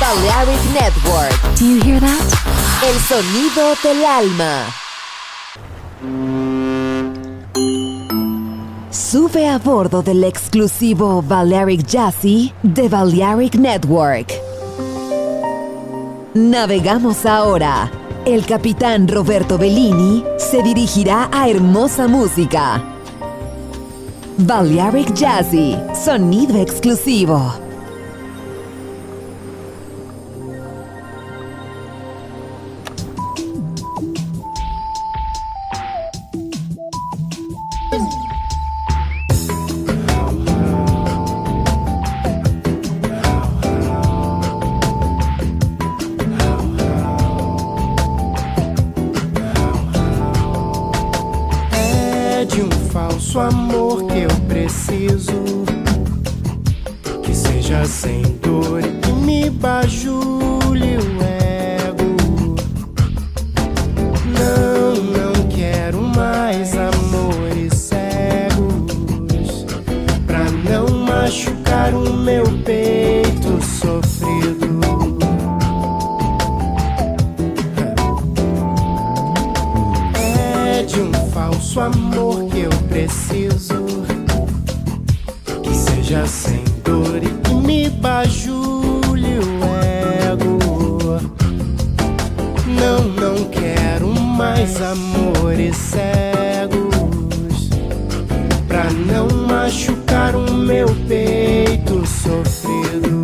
Balearic Network. Do you hear that? El sonido del alma. Sube a bordo del exclusivo Balearic Jazzy de Balearic Network. Navegamos ahora. El capitán Roberto Bellini se dirigirá a hermosa música. Balearic Jazzy, sonido exclusivo. Falso amor que eu preciso, que seja sem dor e que me bajule o ego. Não quero mais amores cegos, pra não machucar o meu peito sofrido. É de um falso amor que eu preciso, que seja sem dor e que me bajule o ego. Não quero mais amores cegos, pra não machucar o meu peito sofrido.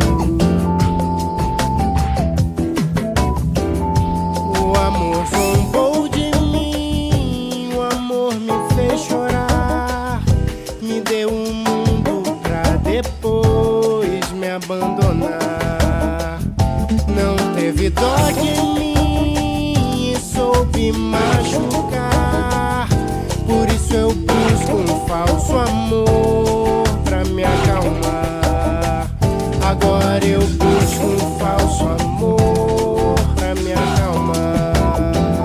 O amor zombou de mim, o amor me fez chorar, me deu um mundo pra depois me abandonar. Não teve dó de mim e soube machucar, por isso eu busco um falso amor pra me acalmar. Agora eu busco um falso amor pra me acalmar.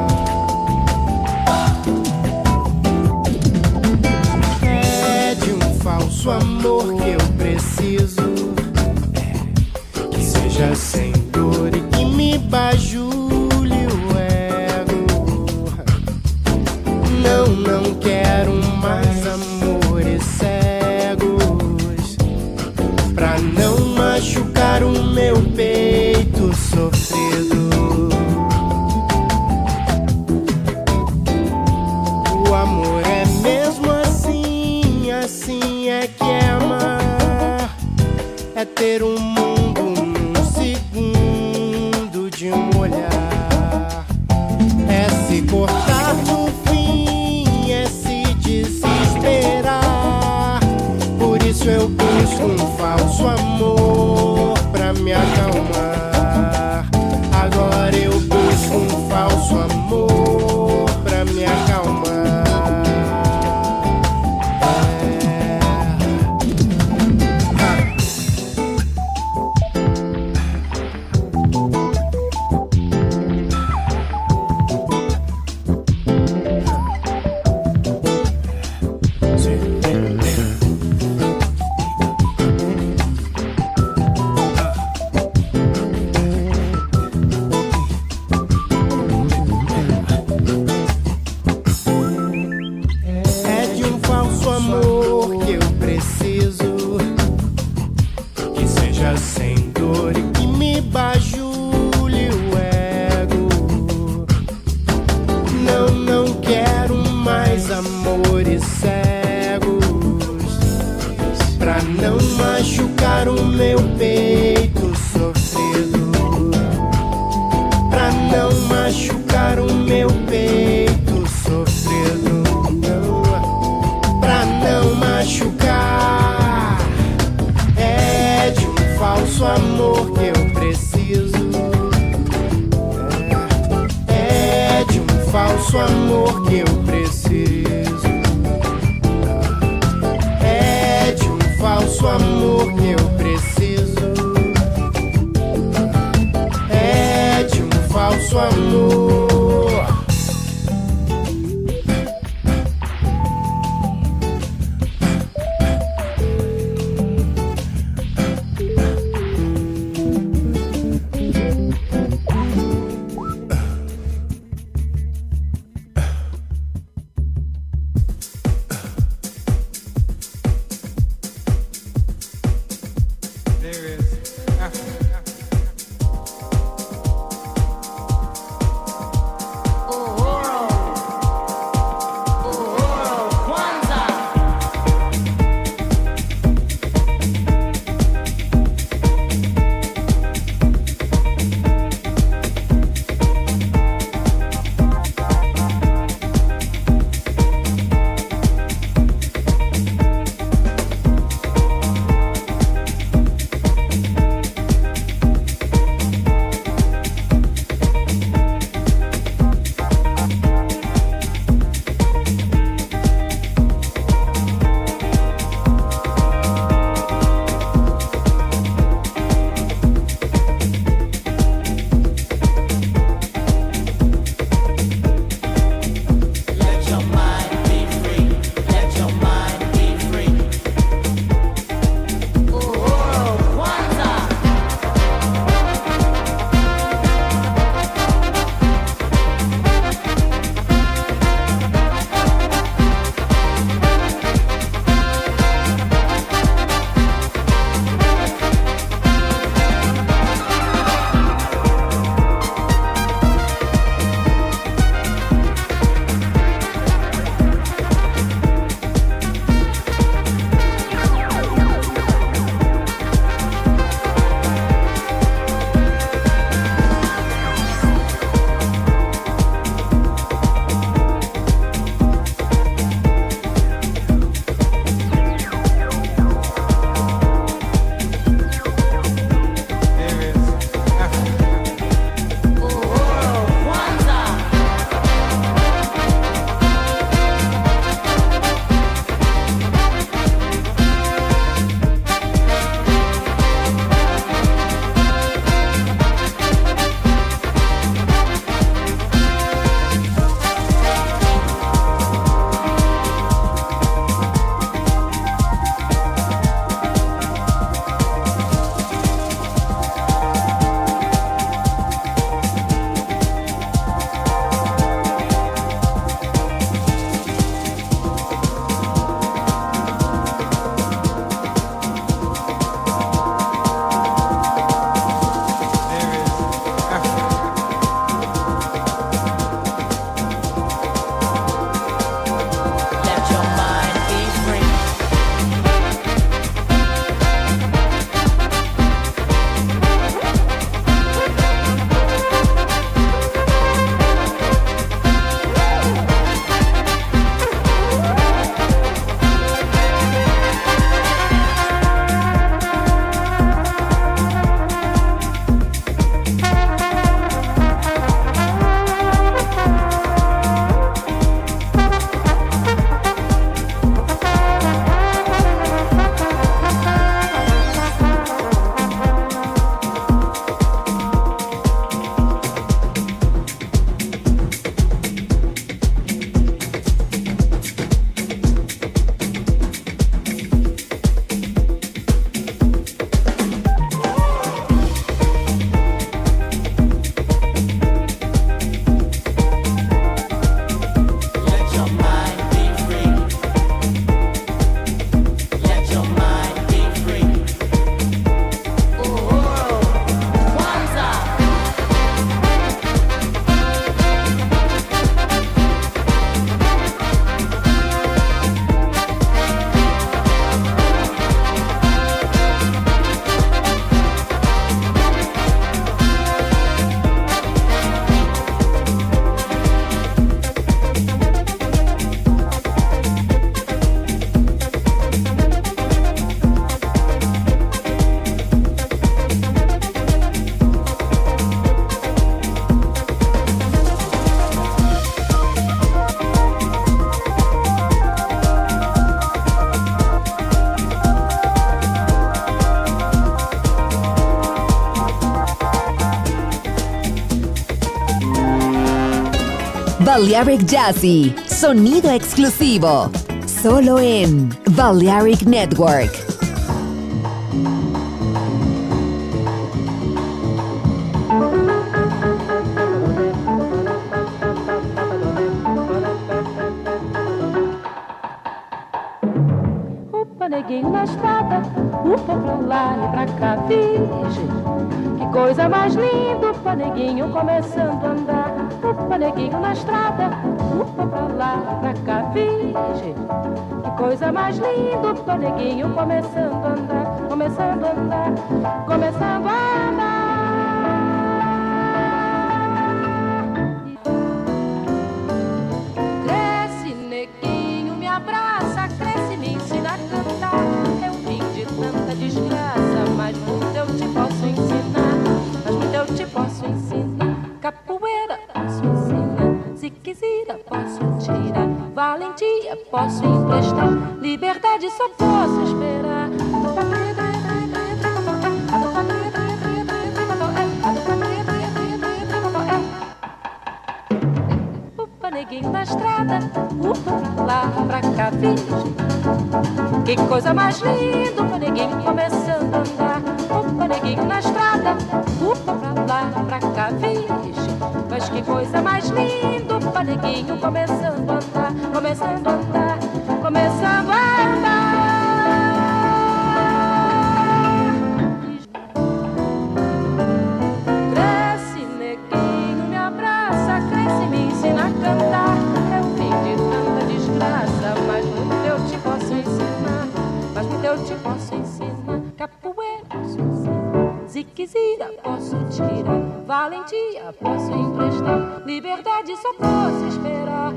É de um falso amor que eu preciso, que seja sem dor e que me bajule o ego. Não quero mais amores cegos, pra não machucar o meu peito sofrido. O amor é mesmo assim, assim é que é amar, é ter um mundo num segundo de um olhar, é se cortar no fim, é se desesperar. Por isso eu busco um falso amor pra me acalmar. Agora eu busco um falso amor pra me acalmar. É de um falso amor que eu preciso, que seja sem dor e que me bajule o ego. Não quero mais amores cegos, pra não machucar o meu peito sofrido, pra não machucar o meu peito sofrido. Pra não machucar, é de um falso amor que eu preciso, é de um falso amor que eu preciso, é de um falso amor que eu preciso, é de um falso amor. Balearic Jazzy, sonido exclusivo, solo en Balearic Network. Upa, neguinho na estrada, upa pra lá e pra cá, virgem. Que coisa mais linda, upa, neguinho começando a andar. Upa, neguinho na estrada, upa pra lá e pra cá, virgem. Que coisa mais linda, upa, neguinho começando a andar, começando a andar, começando a andar. Cresce, neguinho, me abraça, cresce, me ensina a cantar. Eu vim de tanta desgraça, mas muito eu te posso ensinar. Mas muito eu te posso ensinar. Capoeira posso ensinar, se quiser posso tirar. Valentia posso emprestar, liberdade só posso esperar. Upa, neguinho na estrada, upa pra lá, pra cá, virgem. Que coisa mais linda, upa, neguinho começando a andar. Upa, neguinho na estrada, upa pra lá, pra cá, virgem. Mas que coisa mais linda, upa, neguinho começando a andar, começando a andar, começando a andar. Cresce, neguinho, me abraça, cresce, me ensina a cantar. Eu vim de tanta desgraça, mas muito eu te posso ensinar. Mas muito eu te posso ensinar. Capoeira posso ensinar, ziquezira posso tirar. Valentia posso emprestar, liberdade só posso esperar.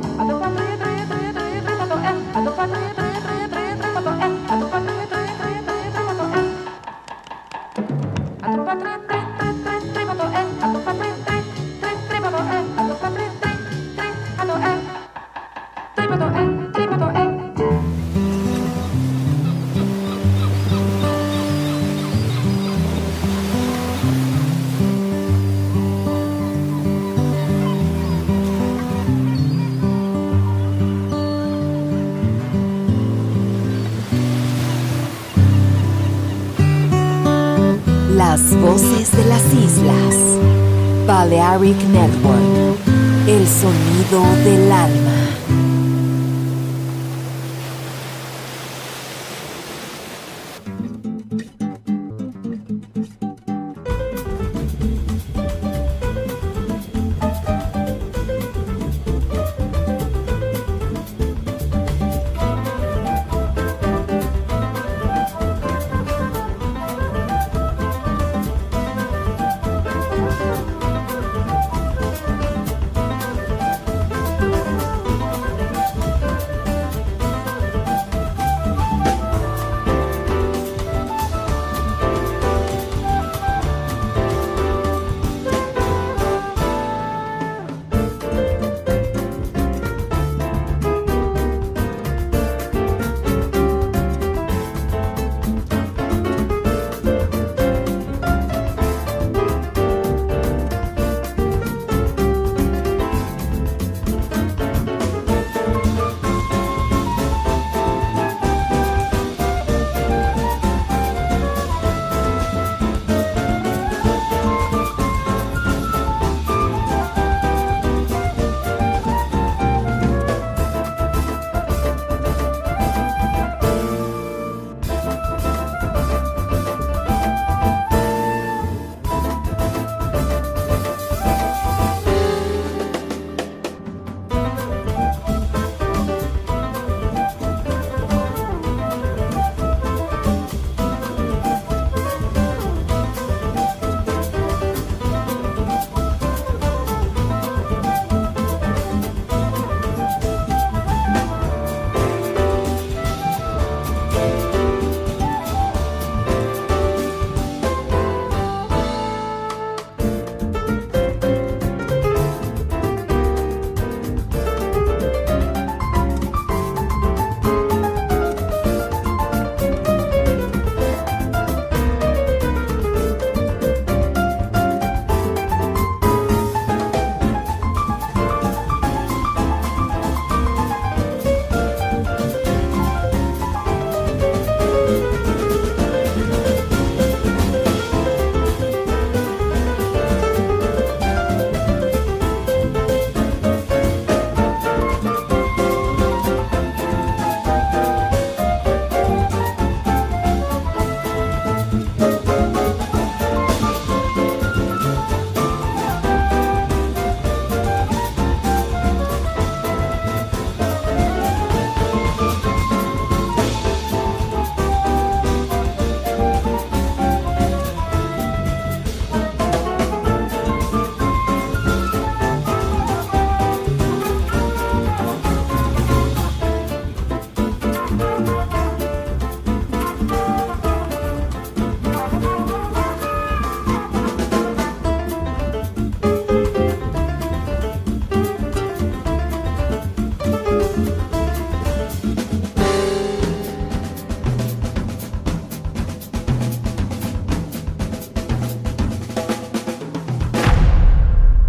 Las voces de las islas. Balearic Network. El sonido del alma.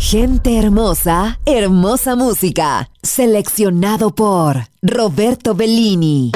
Gente hermosa, hermosa música. Seleccionado por Roberto Bellini.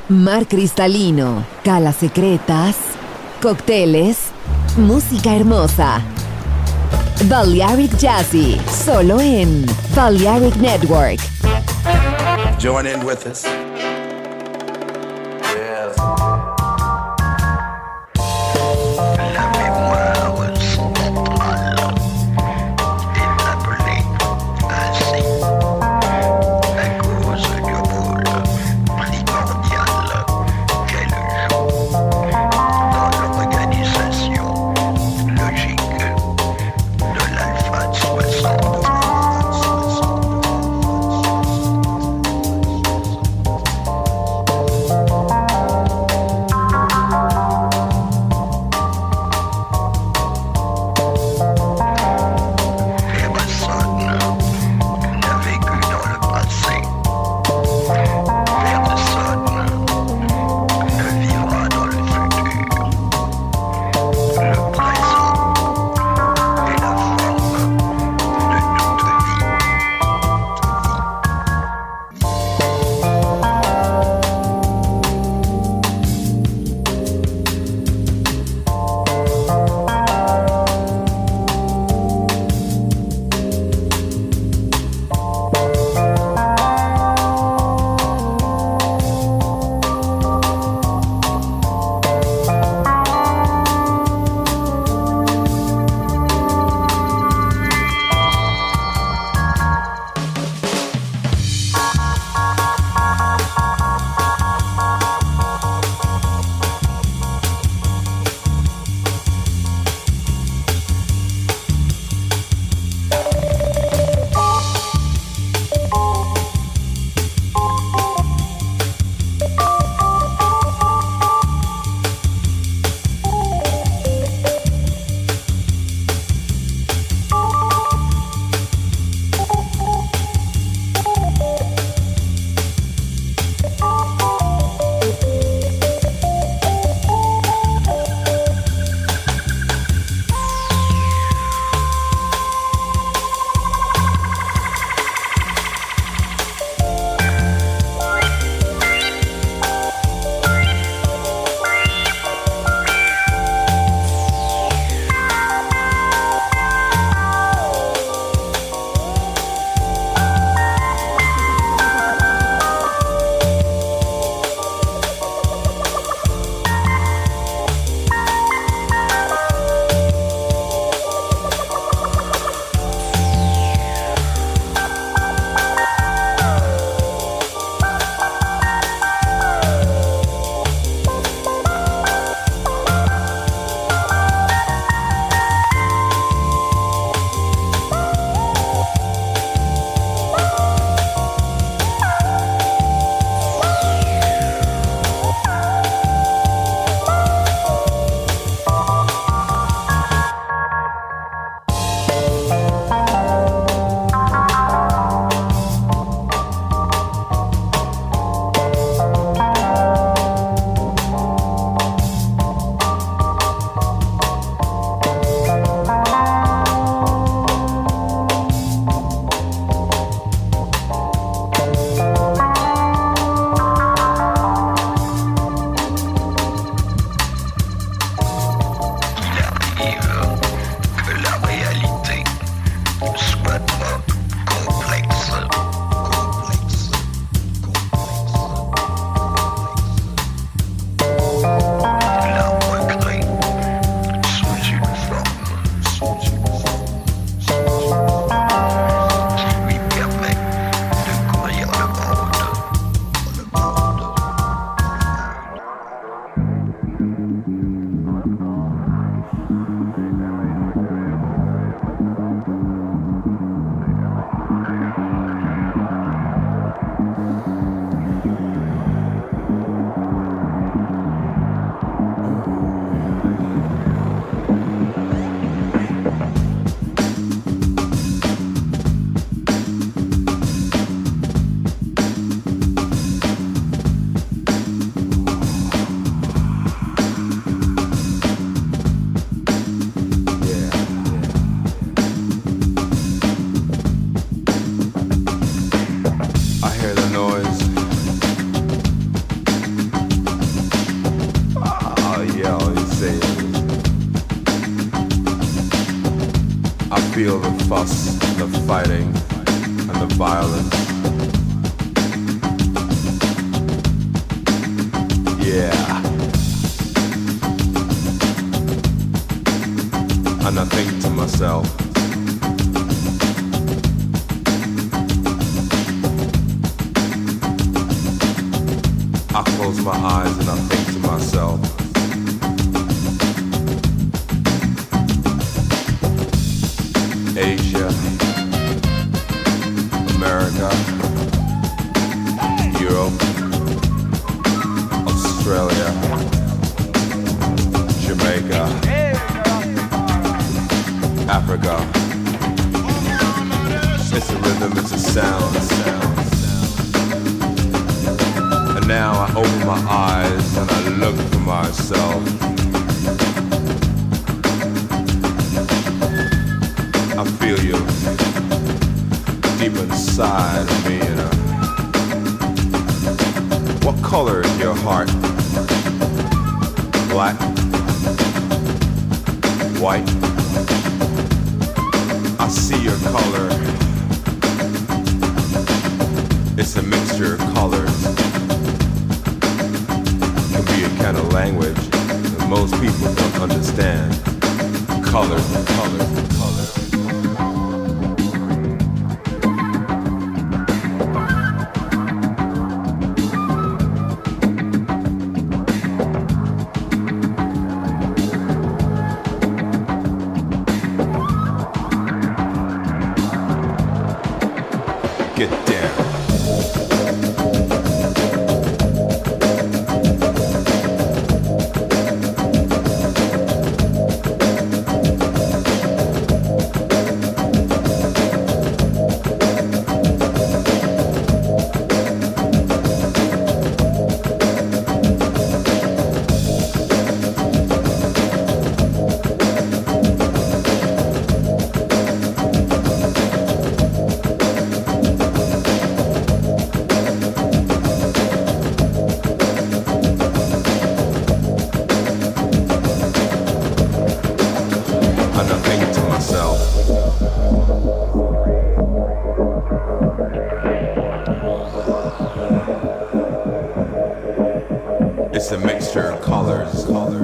mar cristalino, calas secretas, cócteles, música hermosa. Balearic Jazzy, solo en Balearic Network. Join in with us. feel the fuss, the fighting, and the violence. Yeah. And I think to myself, I close my eyes and I think to myself, Asia, America, Europe, Australia, Jamaica, Africa. It's a rhythm, it's a sound. And now I open my eyes and I look for myself. I feel you deep inside of me, you know. What color is your heart? Black? White? I see your color. It's a mixture of colors. It can be a kind of language that most people don't understand. Colors and colors and colors. Get down. It's a mixture of colors.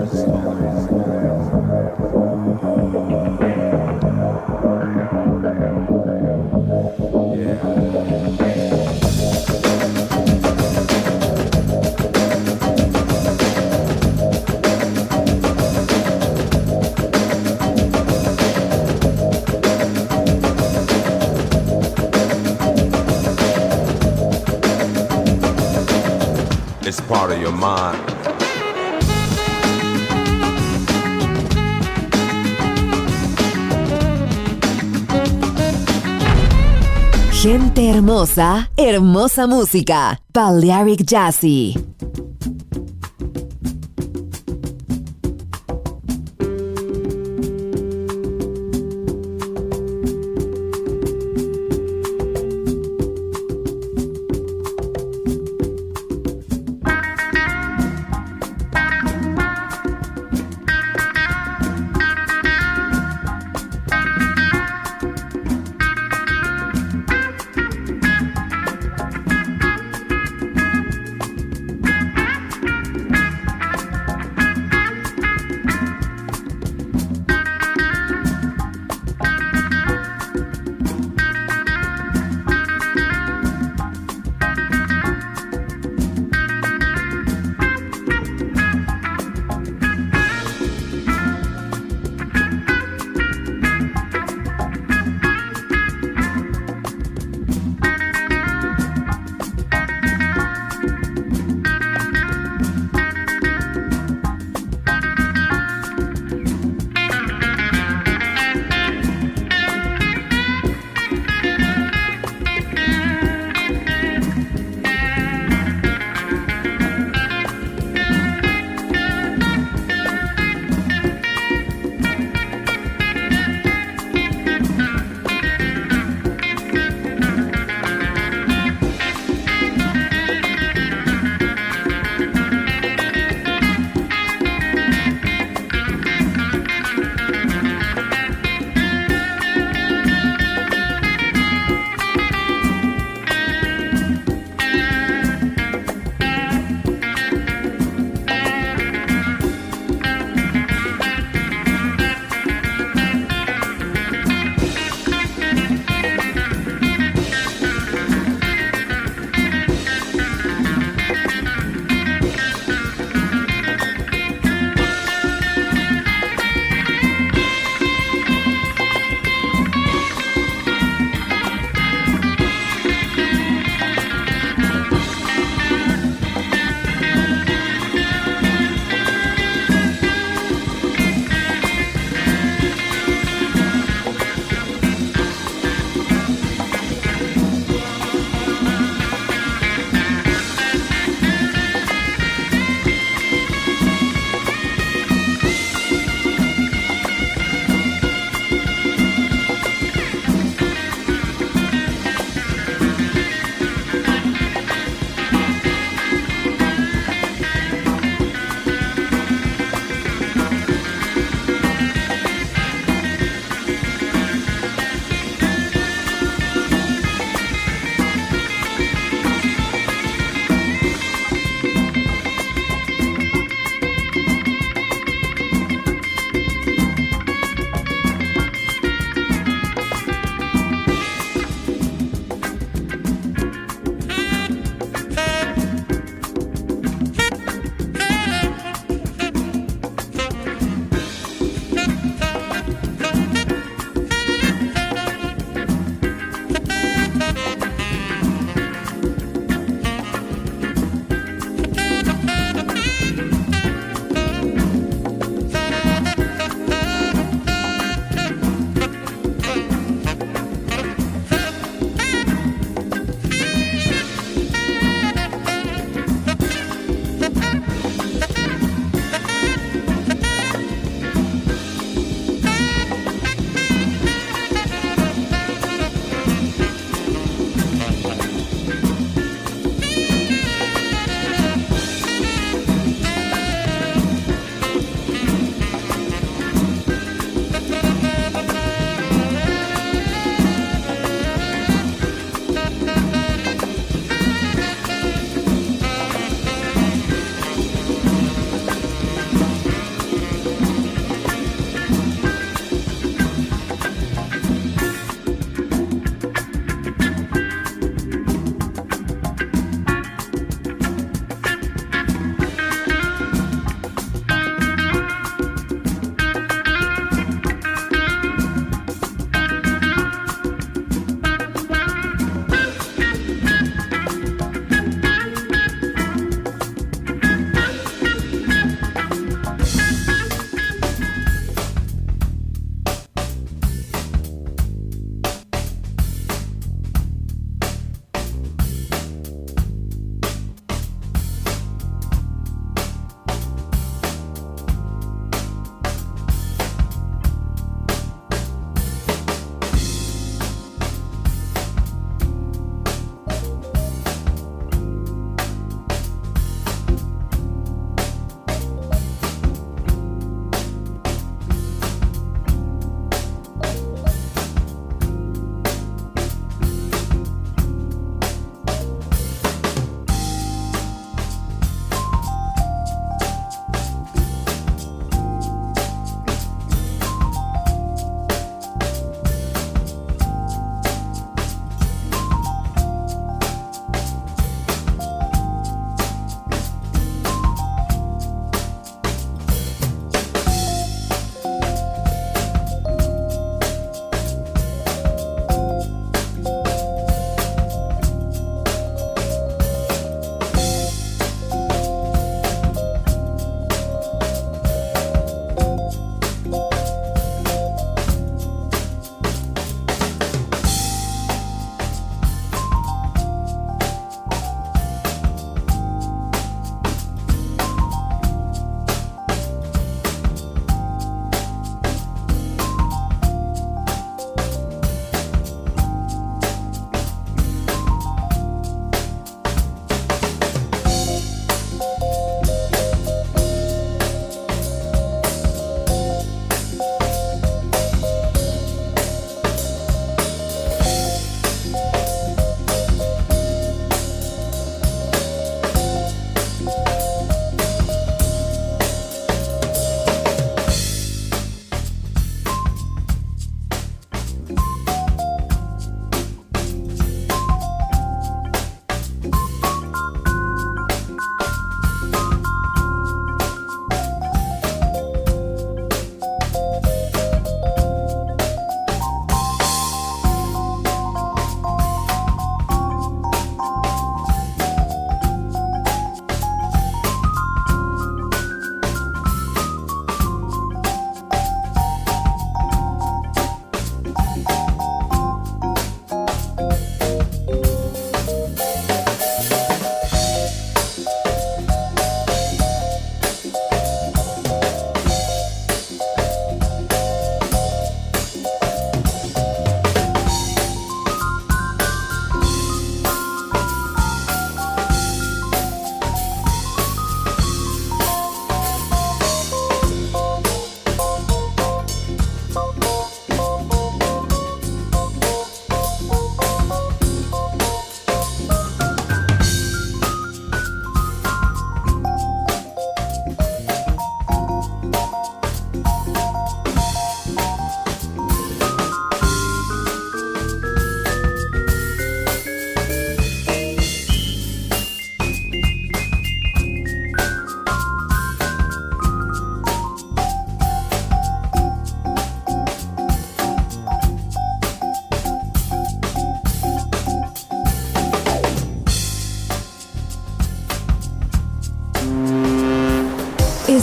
It's part of your mind. Gente hermosa, hermosa música. Balearic Jazzy.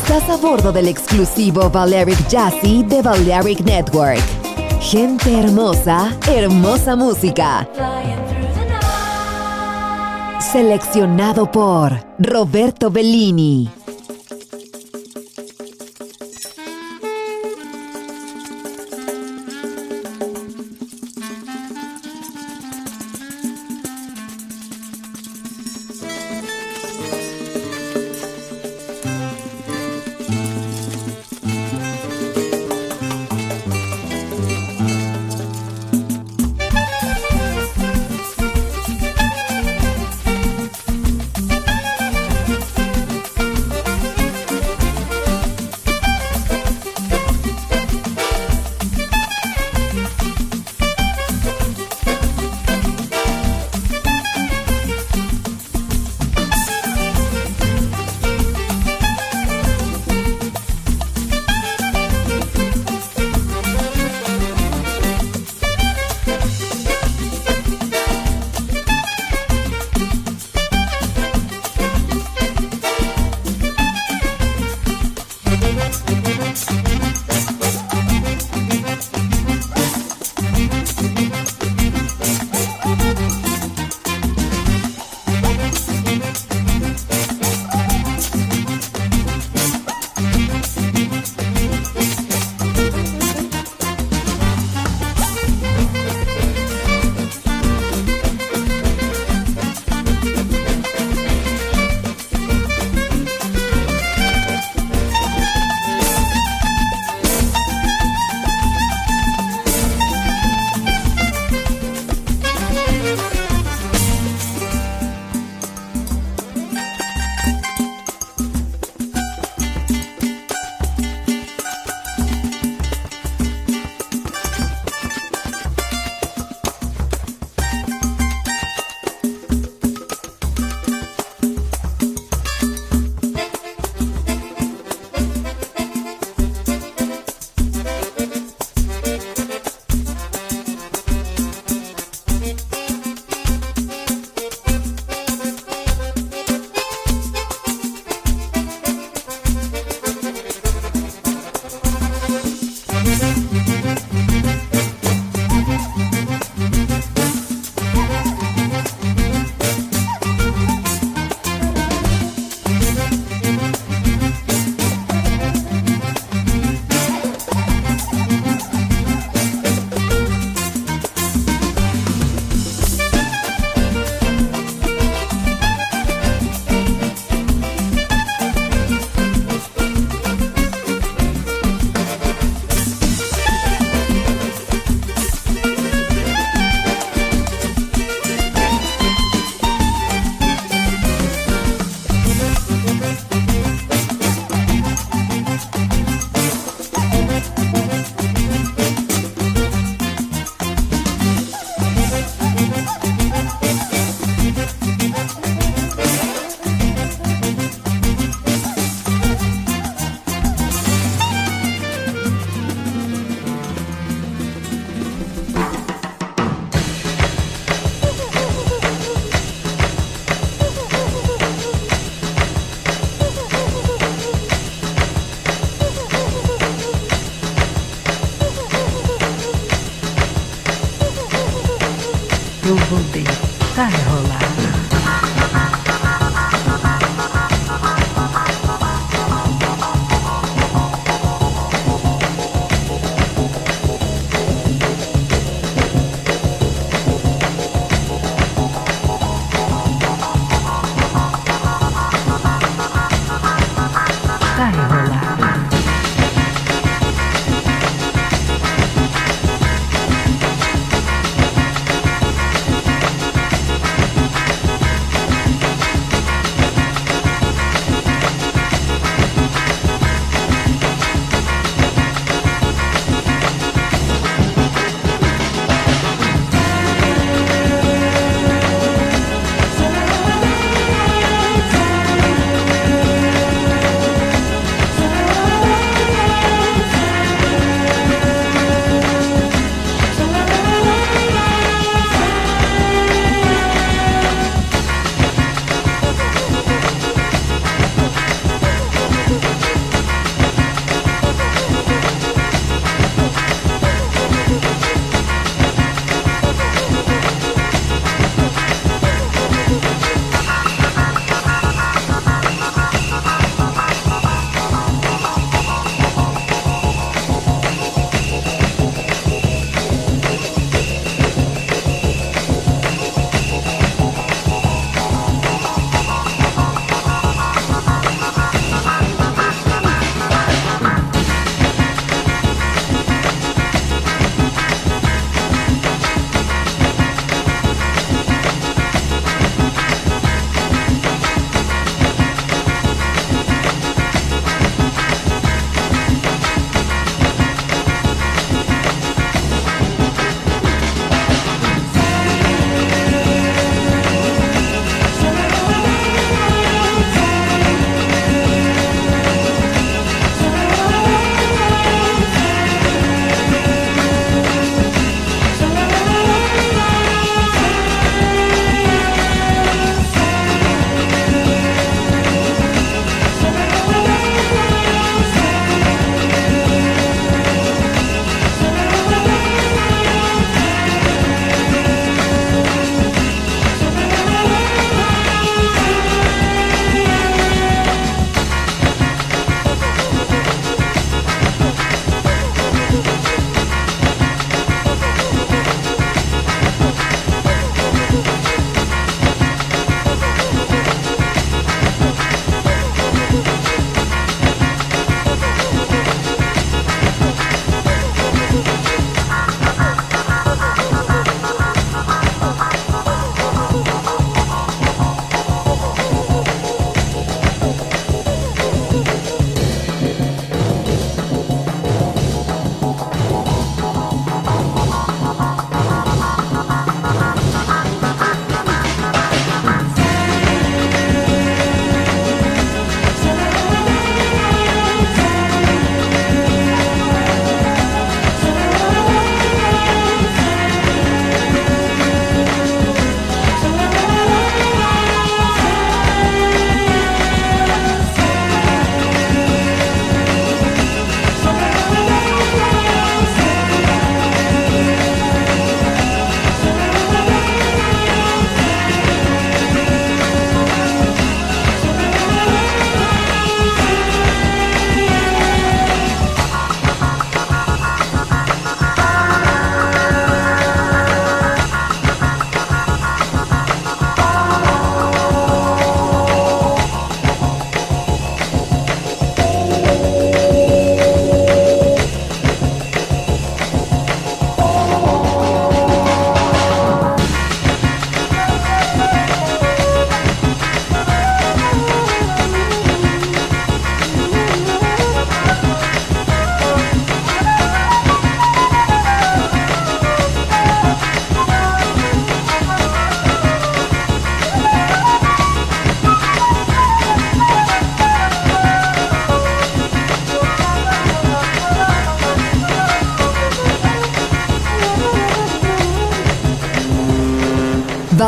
Estás a bordo del exclusivo Balearic Jazzy de Balearic Network. Gente hermosa, hermosa música. Seleccionado por Roberto Bellini.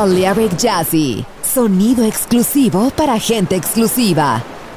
Balearic Jazzy, sonido exclusivo para gente exclusiva.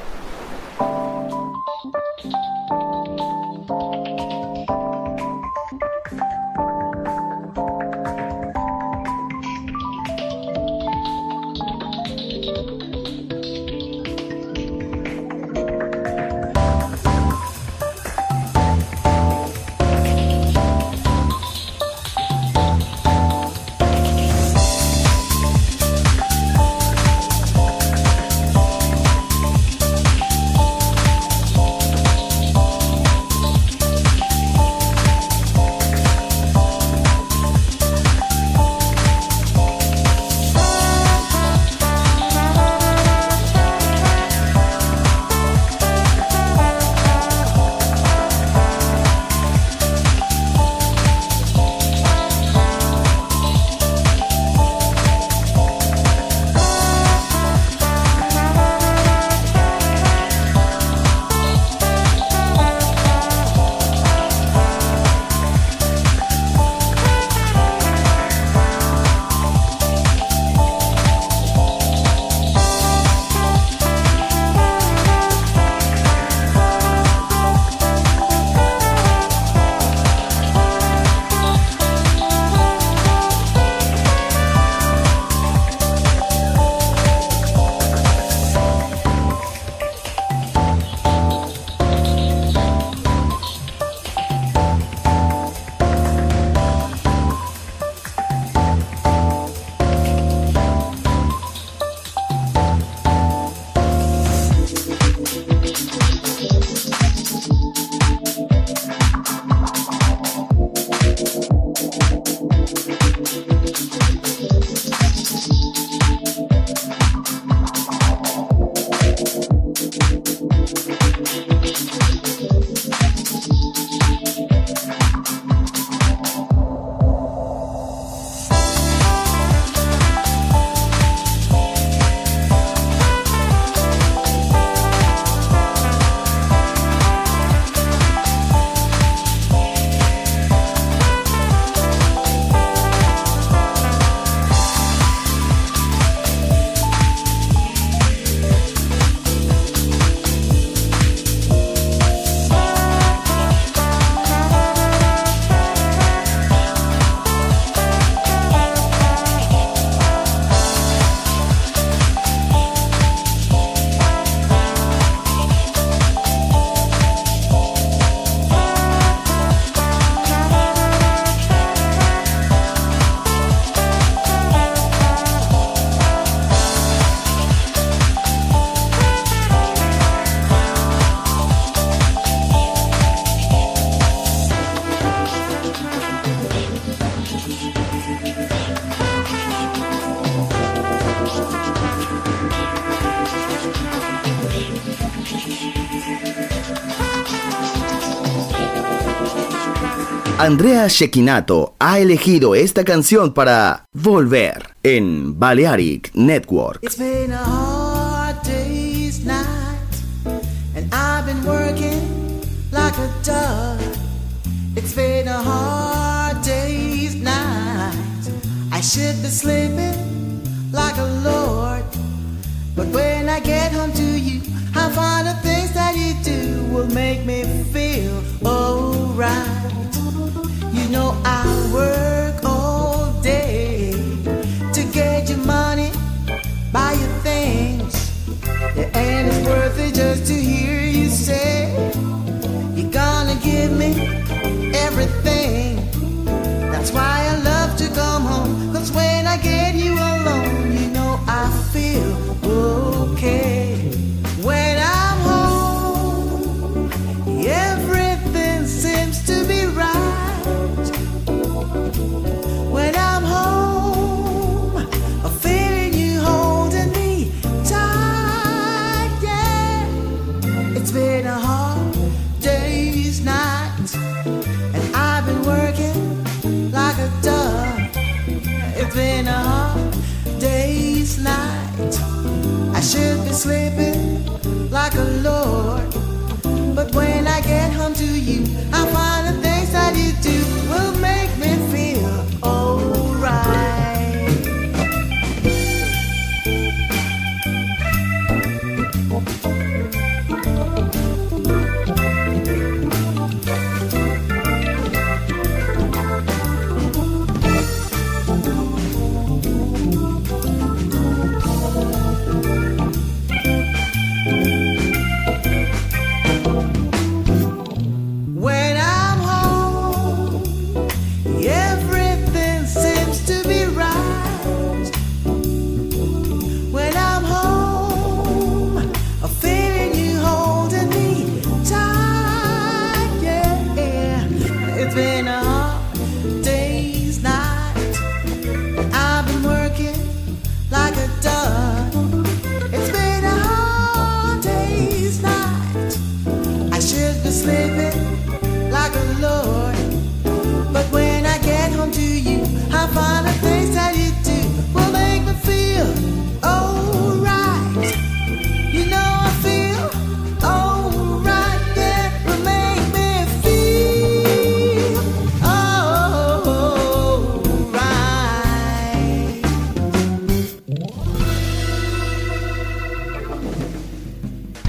Andrea Cecchinato ha elegido esta canción para Volver en Balearic Network. It's been a hard day's night, and I've been working like a dog. It's been a hard day's night. I should be sleeping like a lord, but when I get home to you, I find the things that you do will make me feel alright. You know I work all day to get your money, buy your things, yeah, and it's worth it just to hear you say you're gonna give me everything. That's why I love to come home, 'cause when I get you alone, you know I feel okay. When I'm home, everything seems to be right. When I'm home, I'm feeling you holding me tight, yeah. It's been a hard day's night, and I've been working like a dog. It's been a hard day's night. I should be sleeping like a lord, but when I get home to you, I find the things that you do will make me feel alright.